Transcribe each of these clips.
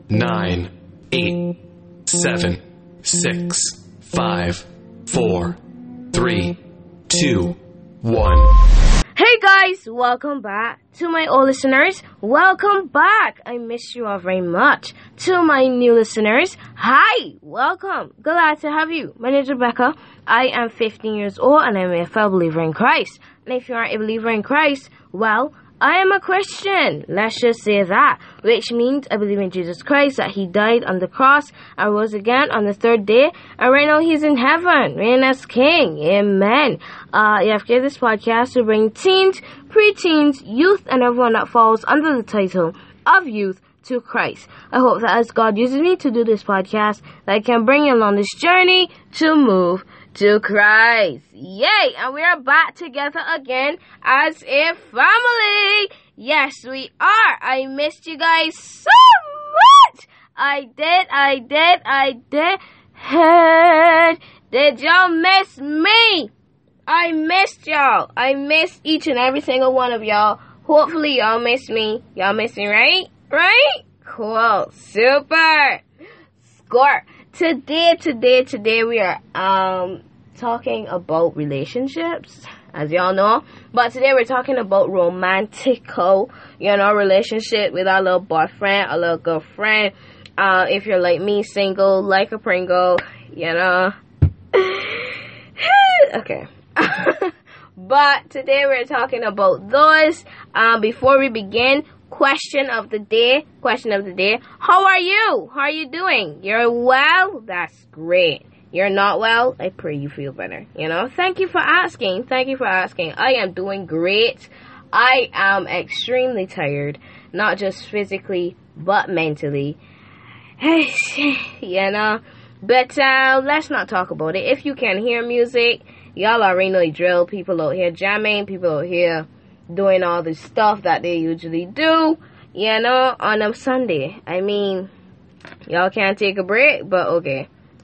9, 8, 7, 6, 5, 4, 3, 2, 1. Hey guys, welcome back. To my old listeners, welcome back. I miss you all very much. To my new listeners, hi, welcome. Glad to have you. My name is Rebecca. I am 15 years old and I'm a fellow believer in Christ. And if you aren't a believer in Christ, well, I am a Christian. Let's just say that. Which means I believe in Jesus Christ, that He died on the cross and rose again on the third day. And right now He's in heaven, reigning as King. Amen. I've created this podcast to bring teens, preteens, youth, and everyone that falls under the title of youth to Christ. I hope that as God uses me to do this podcast, that I can bring you along this journey to move to Christ. Yay! And we are back together again as a family. Yes, we are. I missed you guys so much. I did. Did y'all miss me? I missed y'all. I missed each and every single one of y'all. Hopefully y'all miss me. Y'all miss me, right? Right? Cool. Super. Score. Today we are talking about relationships, as y'all know. But today we're talking about romantical, relationship with our little boyfriend, our little girlfriend. If you're like me, single, like a Pringle, okay. But today we're talking about those. Before we begin, question of the day. How are you? How are you doing? You're well? That's great. You're not well? I pray you feel better. Thank you for asking. I am doing great. I am extremely tired. Not just physically, but mentally. But let's not talk about it. If you can hear music, y'all already know the drill. People out here jamming. People out here doing all the stuff that they usually do, on a Sunday. I mean, y'all can't take a break, but okay.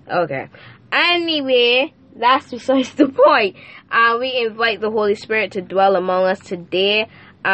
Anyway, that's besides the point. We invite the Holy Spirit to dwell among us today.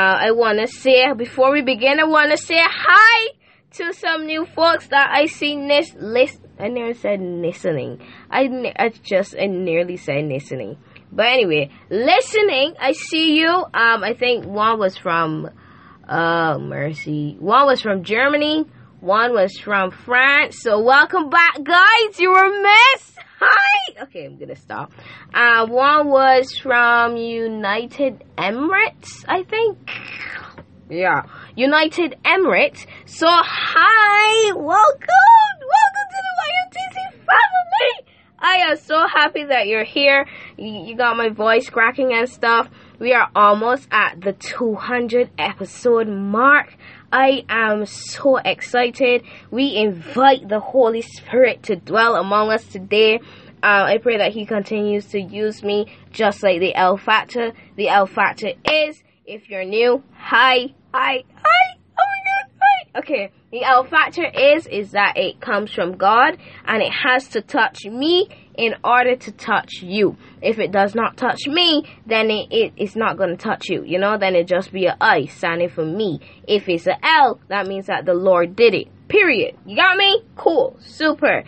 Before we begin, I want to say hi to some new folks that I see I never said listening. I nearly said listening. But anyway, listening, I see you. I think one was from, one was from Germany. One was from France. So welcome back, guys. You were missed. Hi. Okay, I'm gonna stop. One was from United Emirates, I think. Yeah, United Emirates. So hi, welcome to the YMTC family. I am so happy that you're here. You got my voice cracking and stuff. We are almost at the 200 episode mark. I am so excited. We invite the Holy Spirit to dwell among us today. I pray that He continues to use me just like the L Factor. The L Factor is, if you're new, hi. Oh my God, hi. Okay, the L Factor is that it comes from God and it has to touch me in order to touch you. If it does not touch me, then it's not going to touch you, then it just be an I standing for me. If it's an L, that means that the Lord did it, period. You got me? Cool, super.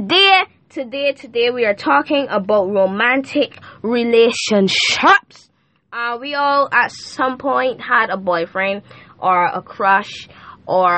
Today we are talking about romantic relationships. We all at some point had a boyfriend or a crush or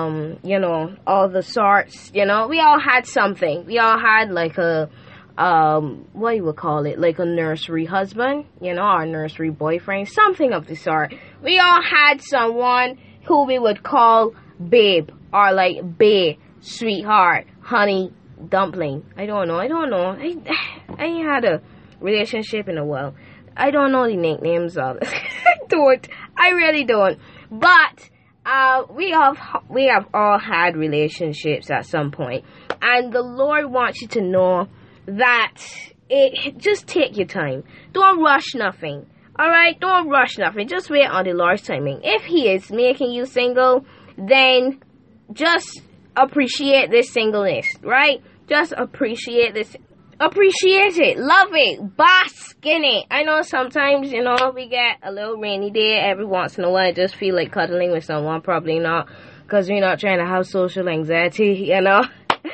all the sorts. We all had something. We all had like a what you would call it, like a nursery husband, our nursery boyfriend, something of the sort. We all had someone who we would call babe or like bae, sweetheart, honey, dumpling. I don't know. I ain't had a relationship in a while. I don't know the nicknames of it. I really don't. But we have all had relationships at some point, and the Lord wants you to know that just take your time. Don't rush nothing. Alright, don't rush nothing. Just wait on the Lord's timing. If He is making you single, then just appreciate this singleness, right? Just appreciate this. Appreciate it. Love it. Bask in it. I know sometimes, we get a little rainy day every once in a while. I just feel like cuddling with someone. Probably not because we're not trying to have social anxiety, you know.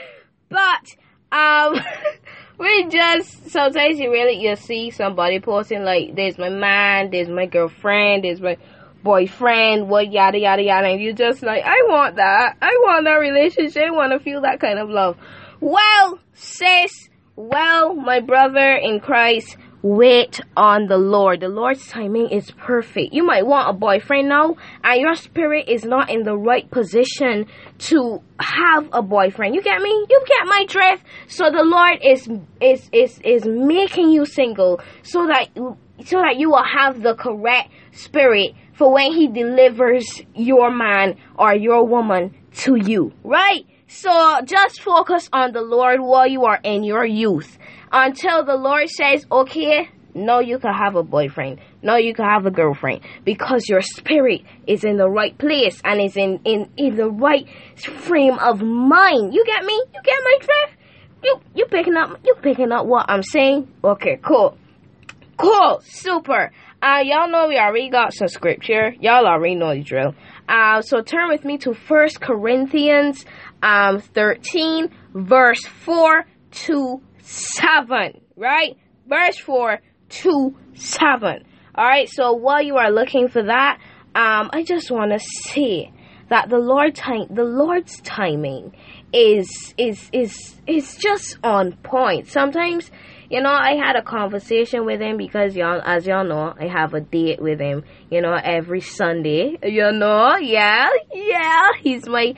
But we just sometimes you see somebody posting like, there's my man, there's my girlfriend, there's my boyfriend, what yada yada yada, and you just like, I want that relationship, I want to feel that kind of love. Well, sis, my brother in Christ, wait on the Lord. The Lord's timing is perfect. You might want a boyfriend now, and your spirit is not in the right position to have a boyfriend. You get me? You get my drift? So the Lord is making you single so that you will have the correct spirit for when He delivers your man or your woman to you, right? So just focus on the Lord while you are in your youth, until the Lord says, okay, no, you can have a boyfriend, no, you can have a girlfriend, because your spirit is in the right place and is in the right frame of mind. You get me? You get my drift? You picking up what I'm saying? Okay, cool, super. Y'all know we already got some scripture. Y'all already know the drill. So turn with me to 1 Corinthians 13, verse 4 to 7, right? Verse 4 to 7. Alright, so while you are looking for that, I just want to say that the Lord's timing is just on point. Sometimes, you know, I had a conversation with Him because as y'all know, I have a date with Him, you know, every Sunday, you know, yeah, he's my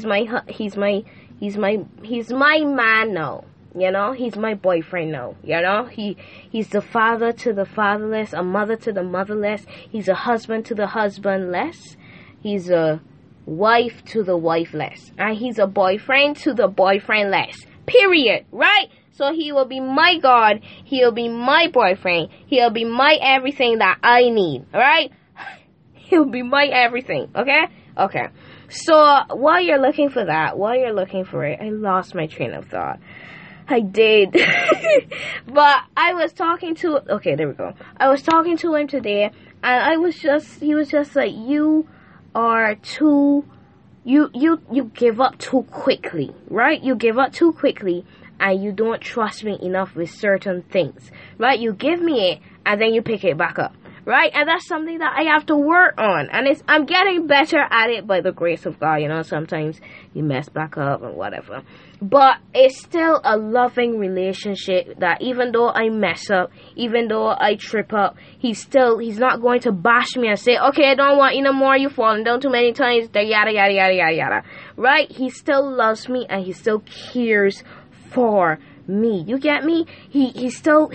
man now, you know, he's my boyfriend now, you know, he's the father to the fatherless, a mother to the motherless, he's a husband to the husbandless, he's a wife to the wifeless, and he's a boyfriend to the boyfriendless, period, right? So He will be my God, He'll be my boyfriend, He'll be my everything that I need, alright? He'll be my everything, okay? So, while you're looking for that, while you're looking for it, I lost my train of thought. I did. But I was talking to, okay, there we go. I was talking to him today, and he was just like, you are too, you give up too quickly, right? You give up too quickly, and you don't trust me enough with certain things, right? You give me it, and then you pick it back up, right? And that's something that I have to work on, and I'm getting better at it by the grace of God. You know, sometimes you mess back up and whatever, but it's still a loving relationship that even though I mess up, even though I trip up, he's not going to bash me and say, okay, I don't want you no more, you've fallen down too many times, yada yada yada yada yada, right? He still loves me, and he still cares for me. You get me? He still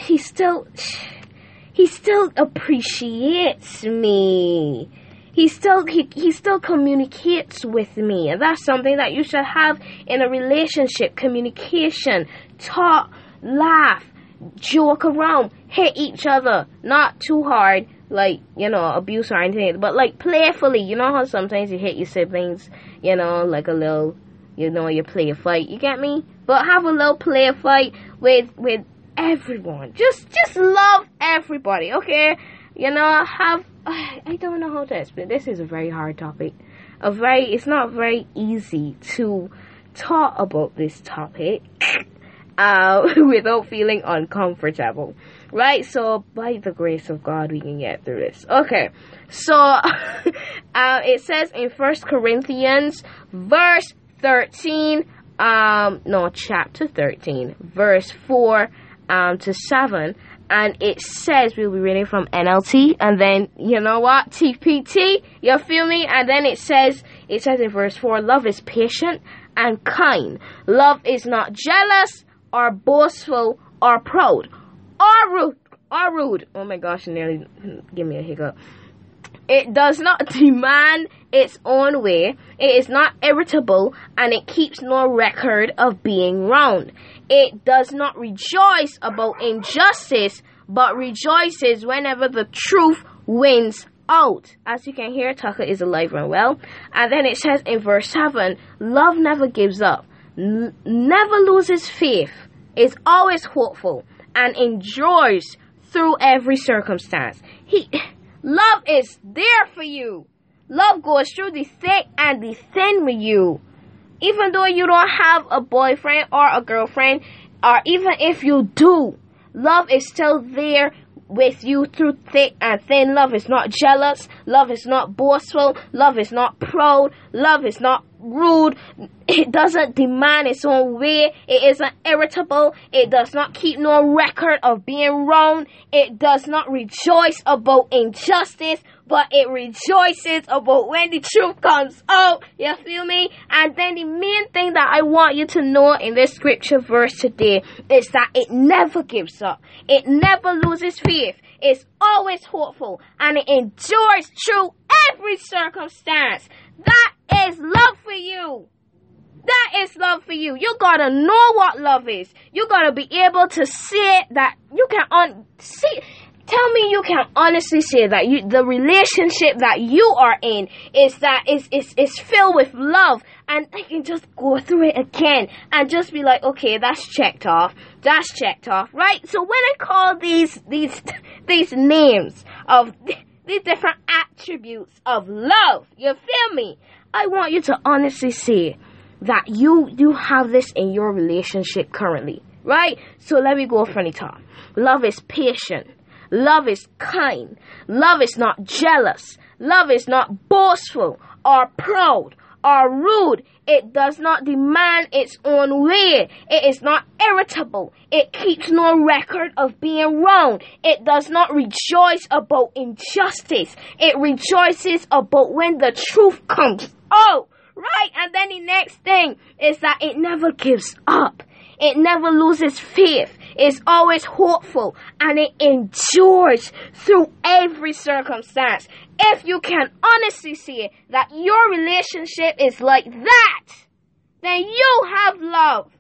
appreciates me. He still communicates with me, and that's something that you should have in a relationship. Communication, talk, laugh, joke around, hit each other, not too hard, like, you know, abuse or anything, but like playfully. You know how sometimes you hit your siblings, you know, like a little, you know, you play a fight, you get me? But have a little play a fight with everyone. Just love everybody, okay? You know, I don't know how to explain. This is a very hard topic. It's not very easy to talk about this topic without feeling uncomfortable, right? So by the grace of God, we can get through this. Okay, so it says in 1 Corinthians verse 13, chapter 13, verse 4 to 7, and it says, we'll be reading from NLT, and then, you know what, TPT, you feel me? And then it says in verse 4, love is patient and kind. Love is not jealous or boastful or proud or rude. Oh my gosh, it nearly gave me a hiccup. It does not demand its own way. It is not irritable, and it keeps no record of being wronged. It does not rejoice about injustice, but rejoices whenever the truth wins out. As you can hear, Tucker is alive and well. And then it says in verse 7, love never gives up, never loses faith, is always hopeful, and endures through every circumstance. Love is there for you. Love goes through the thick and the thin with you. Even though you don't have a boyfriend or a girlfriend, or even if you do, love is still there with you through thick and thin. Love is not jealous. Love is not boastful. Love is not proud. Love is not rude. It doesn't demand its own way. It isn't irritable. It does not keep no record of being wrong. It does not rejoice about injustice, but it rejoices about when the truth comes out. You feel me? And then the main thing that I want you to know in this scripture verse today is that it never gives up. It never loses faith. It's always hopeful, and it endures through every circumstance. That is love for you. That is love for you. You gotta know what love is. You gotta be able to say that you can tell me you can honestly say that the relationship that you are in is filled with love, and I can just go through it again and just be like, okay, that's checked off, right? So when I call these names of these different attributes of love, you feel me? I want you to honestly say that you have this in your relationship currently, right? So let me go from the top. Love is patient. Love is kind. Love is not jealous. Love is not boastful or proud or rude. It does not demand its own way. It is not irritable. It keeps no record of being wrong. It does not rejoice about injustice. It rejoices about when the truth comes out. Right? And then the next thing is that it never gives up. It never loses faith. It's always hopeful, and it endures through every circumstance. If you can honestly see that your relationship is like that, then you have love.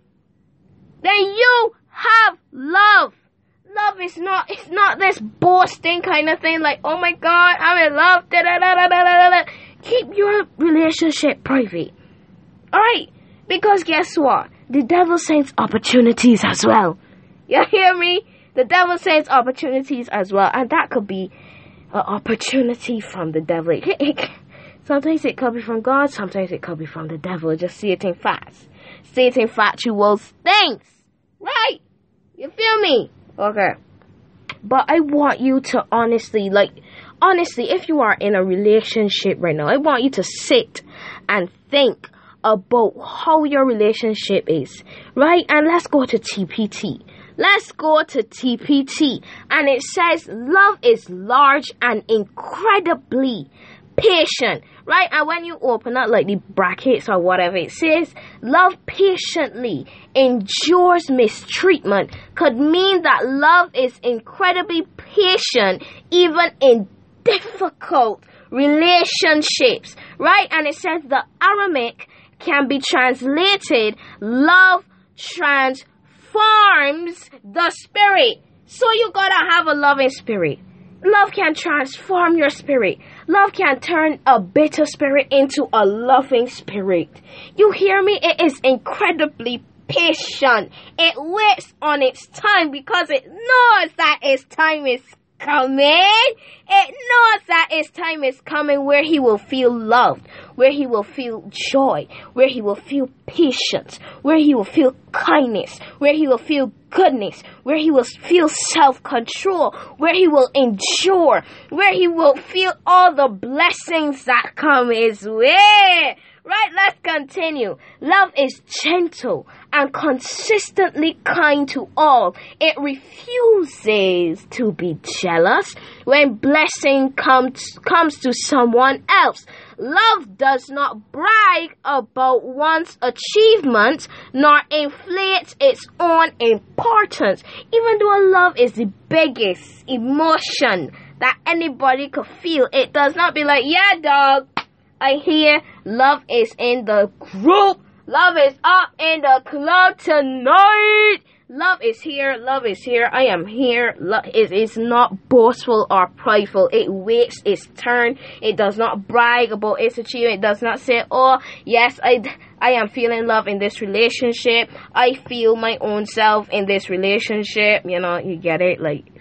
Love is not this boasting kind of thing like, oh my God, I'm in love. Da, da, da, da, da, da, da. Keep your relationship private. Alright? Because guess what? The devil sends opportunities as well. You hear me? The devil sends opportunities as well. And that could be an opportunity from the devil. Sometimes it could be from God. Sometimes it could be from the devil. Just say it in facts. Say it in factual things. Right? You feel me? Okay. But I want you to honestly, if you are in a relationship right now, I want you to sit and think about how your relationship is, right? And let's go to TPT. And it says love is large and incredibly patient, right? And when you open up like the brackets or whatever it says, love patiently endures mistreatment, could mean that love is incredibly patient even in difficult relationships, right? And it says the Aramaic can be translated, love transforms the spirit. So you gotta have a loving spirit. Love can transform your spirit. Love can turn a bitter spirit into a loving spirit. You hear me? It is incredibly patient. It waits on its time because it knows that its time is coming. It knows that its time is coming where he will feel loved, where he will feel joy, where he will feel patience, where he will feel kindness, where he will feel goodness, where he will feel self-control, where he will endure, where he will feel all the blessings that come his way. Right, let's continue. Love is gentle and consistently kind to all. It refuses to be jealous when blessing comes to someone else. Love does not brag about one's achievements nor inflates its own importance. Even though love is the biggest emotion that anybody could feel, it does not be like, yeah, dog, I hear love is in the group. Love is up in the club tonight. Love is here. Love is here. I am here. Love is not boastful or prideful. It waits its turn. It does not brag about its achievement. It does not say, oh, yes, I am feeling love in this relationship. I feel my own self in this relationship. You know, you get it? Like,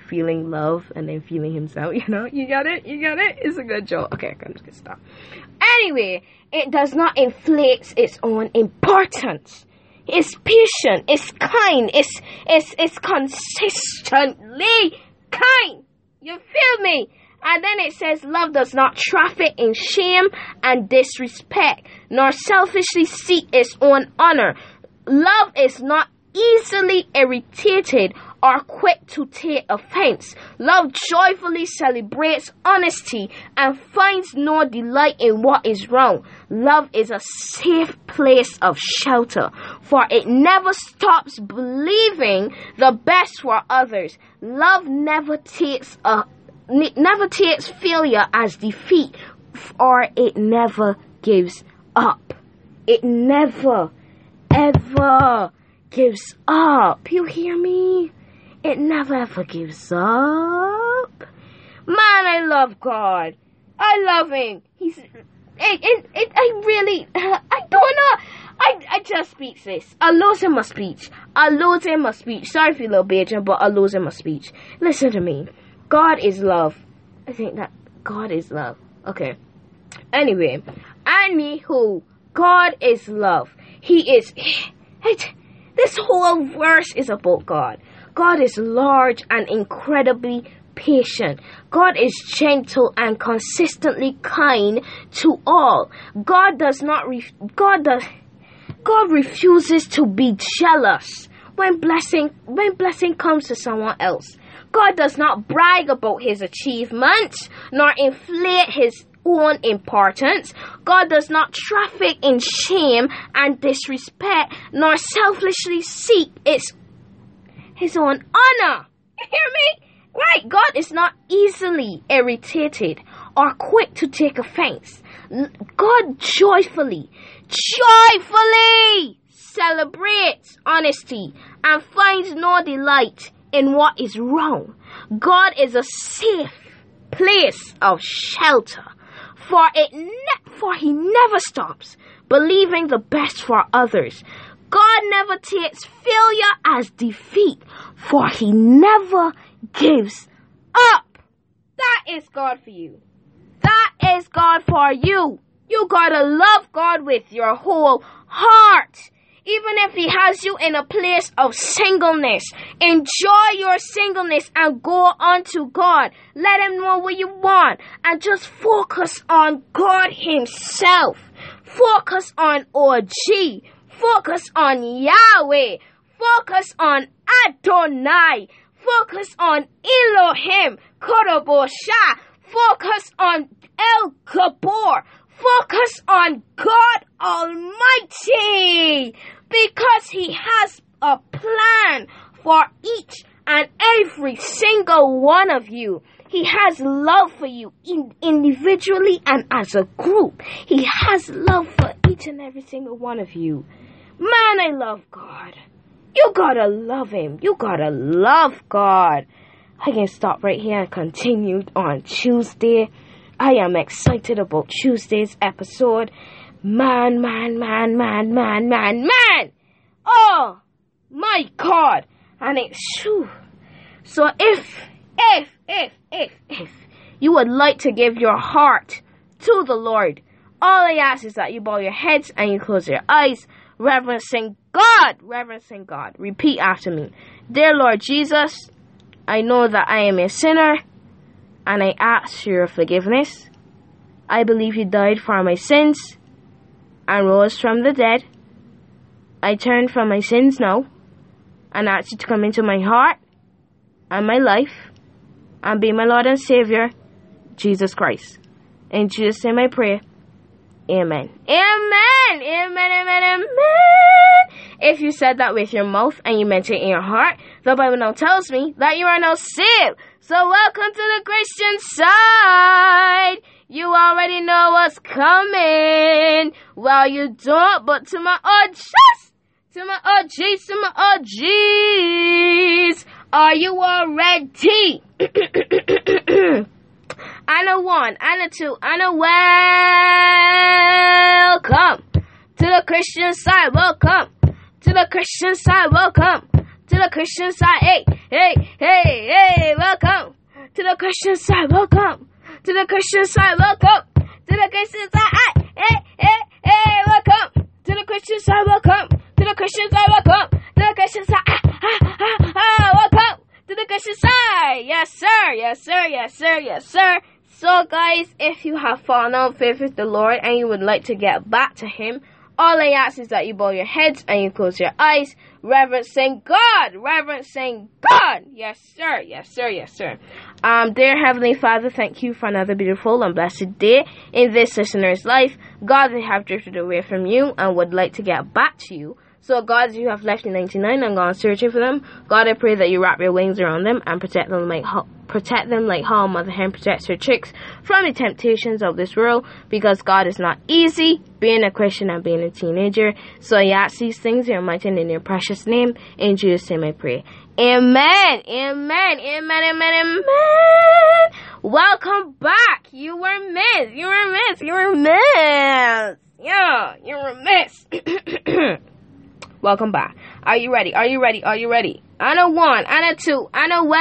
feeling love and then feeling himself, you know? You got it? It's a good joke. Okay, I'm just gonna stop. Anyway, it does not inflate its own importance. It's patient, it's kind, it's consistently kind. You feel me? And then it says, love does not traffic in shame and disrespect, nor selfishly seek its own honor. Love is not easily irritated or quick to take offense. Love joyfully celebrates honesty and finds no delight in what is wrong. Love is a safe place of shelter, for it never stops believing the best for others. Love never takes failure as defeat, or it never gives up. It never, ever gives up. You hear me? It never ever gives up. Man, I love God. I love him. I really, I don't know. I just speak this. I lose in my speech. Sorry for you little bitch, but I lose in my speech. Listen to me. God is love. I think that God is love. Okay. Anyway, anywho, God is love. He is. This whole verse is about God. God is large and incredibly patient. God is gentle and consistently kind to all. God refuses to be jealous when blessing comes to someone else. God does not brag about his achievements nor inflate his own importance. God does not traffic in shame and disrespect nor selfishly seek his own honor. You hear me? Right, God is not easily irritated or quick to take offense. God joyfully celebrates honesty and finds no delight in what is wrong. God is a safe place of shelter, for he never stops believing the best for others. God never takes failure as defeat, for he never gives up. That is God for you. That is God for you. You gotta love God with your whole heart. Even if he has you in a place of singleness, enjoy your singleness and go on to God. Let him know what you want and just focus on God himself. Focus on OG. Focus on Yahweh. Focus on Adonai. Focus on Elohim. Korobosha. Focus on El Gabor. Focus on God Almighty, because he has a plan for each and every single one of you. He has love for you individually and as a group. He has love for each and every single one of you. Man, I love God. You gotta love him. You gotta love God. I can stop right here and continue on Tuesday. I am excited about Tuesday's episode. Man. Oh, my God. And it's true. So if you would like to give your heart to the Lord, all I ask is that you bow your heads and you close your eyes, reverencing God. Repeat after me. Dear Lord Jesus, I know that I am a sinner, and I ask for your forgiveness. I believe you died for my sins and rose from the dead. I turn from my sins now and ask you to come into my heart and my life and be my Lord and Savior, Jesus Christ. In Jesus' name I pray. Amen. Amen. If you said that with your mouth and you meant it in your heart, the Bible now tells me that you are now saved. So welcome to the Christian side. You already know what's coming. Well, you don't, but to my OGs, are you all ready? And a one, and a two, and a welcome to the Christian side. Welcome to the Christian side. Welcome to the Christian side. Hey, hey, hey, hey, welcome to the Christian side. Welcome to the Christian side. Welcome to the Christian side. Hey, hey, hey, welcome to the Christian side. Welcome to the Christian side. Welcome to the Christian side. Welcome to the Christian side. Yes, sir. Yes, sir. Yes, sir. Yes, sir. So, guys, if you have fallen out of faith with the Lord and you would like to get back to Him, all I ask is that you bow your heads and you close your eyes, reverencing God. Reverencing God. Yes, sir. Yes, sir. Yes, sir. Dear Heavenly Father, thank you for another beautiful and blessed day in this listener's life. God, they have drifted away from you and would like to get back to you. So, God, as you have left the 99 and gone searching for them, God, I pray that you wrap your wings around them and protect them like how a mother hen protects her chicks from the temptations of this world, because, God, is not easy being a Christian and being a teenager. So I ask these things in your mighty and in your precious name. In Jesus' name I pray. Amen. Amen. Amen. Amen. Amen. Welcome back. You were missed. You were missed. You were missed. Yeah, you were missed. Welcome back. Are you ready? Are you ready? Are you ready? And a one, and a two, and a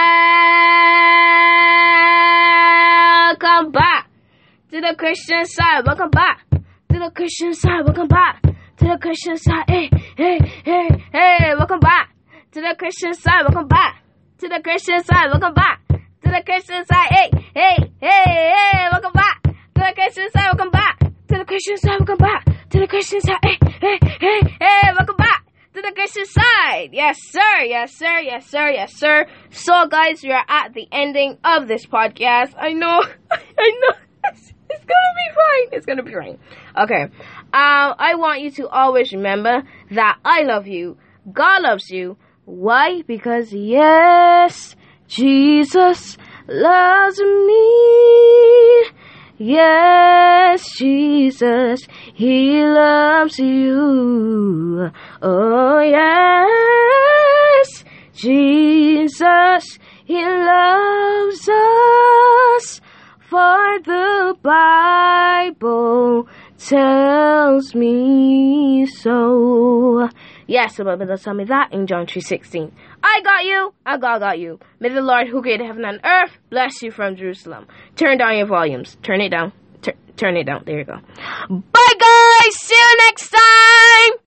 welcome back to the Christian side. Welcome back to the Christian side. Welcome back to the Christian side. Hey, hey, hey, hey. Welcome back to the Christian side. Welcome back to the Christian side. Welcome back to the Christian side. Hey, hey, hey, hey. Welcome back to the Christian side. Welcome back to the Christian side. Welcome back to the Christian side. Hey, hey, hey, hey. Welcome back to the Christian side. Yes, sir. Yes, sir. Yes, sir. Yes, sir. So, guys, we are at the ending of this podcast. I know. I know. It's gonna be fine. It's gonna be fine. Okay. I want you to always remember that I love you. God loves you. Why? Because, yes, Jesus loves me. Yes, Jesus, He loves you. Oh, yes, Jesus, He loves us. For the Bible tells me so. Yes, the Bible does tell me that in John 3:16. I got you, and God got you. May the Lord who created heaven and earth bless you from Jerusalem. Turn down your volumes. Turn it down. Turn it down. There you go. Bye, guys. See you next time.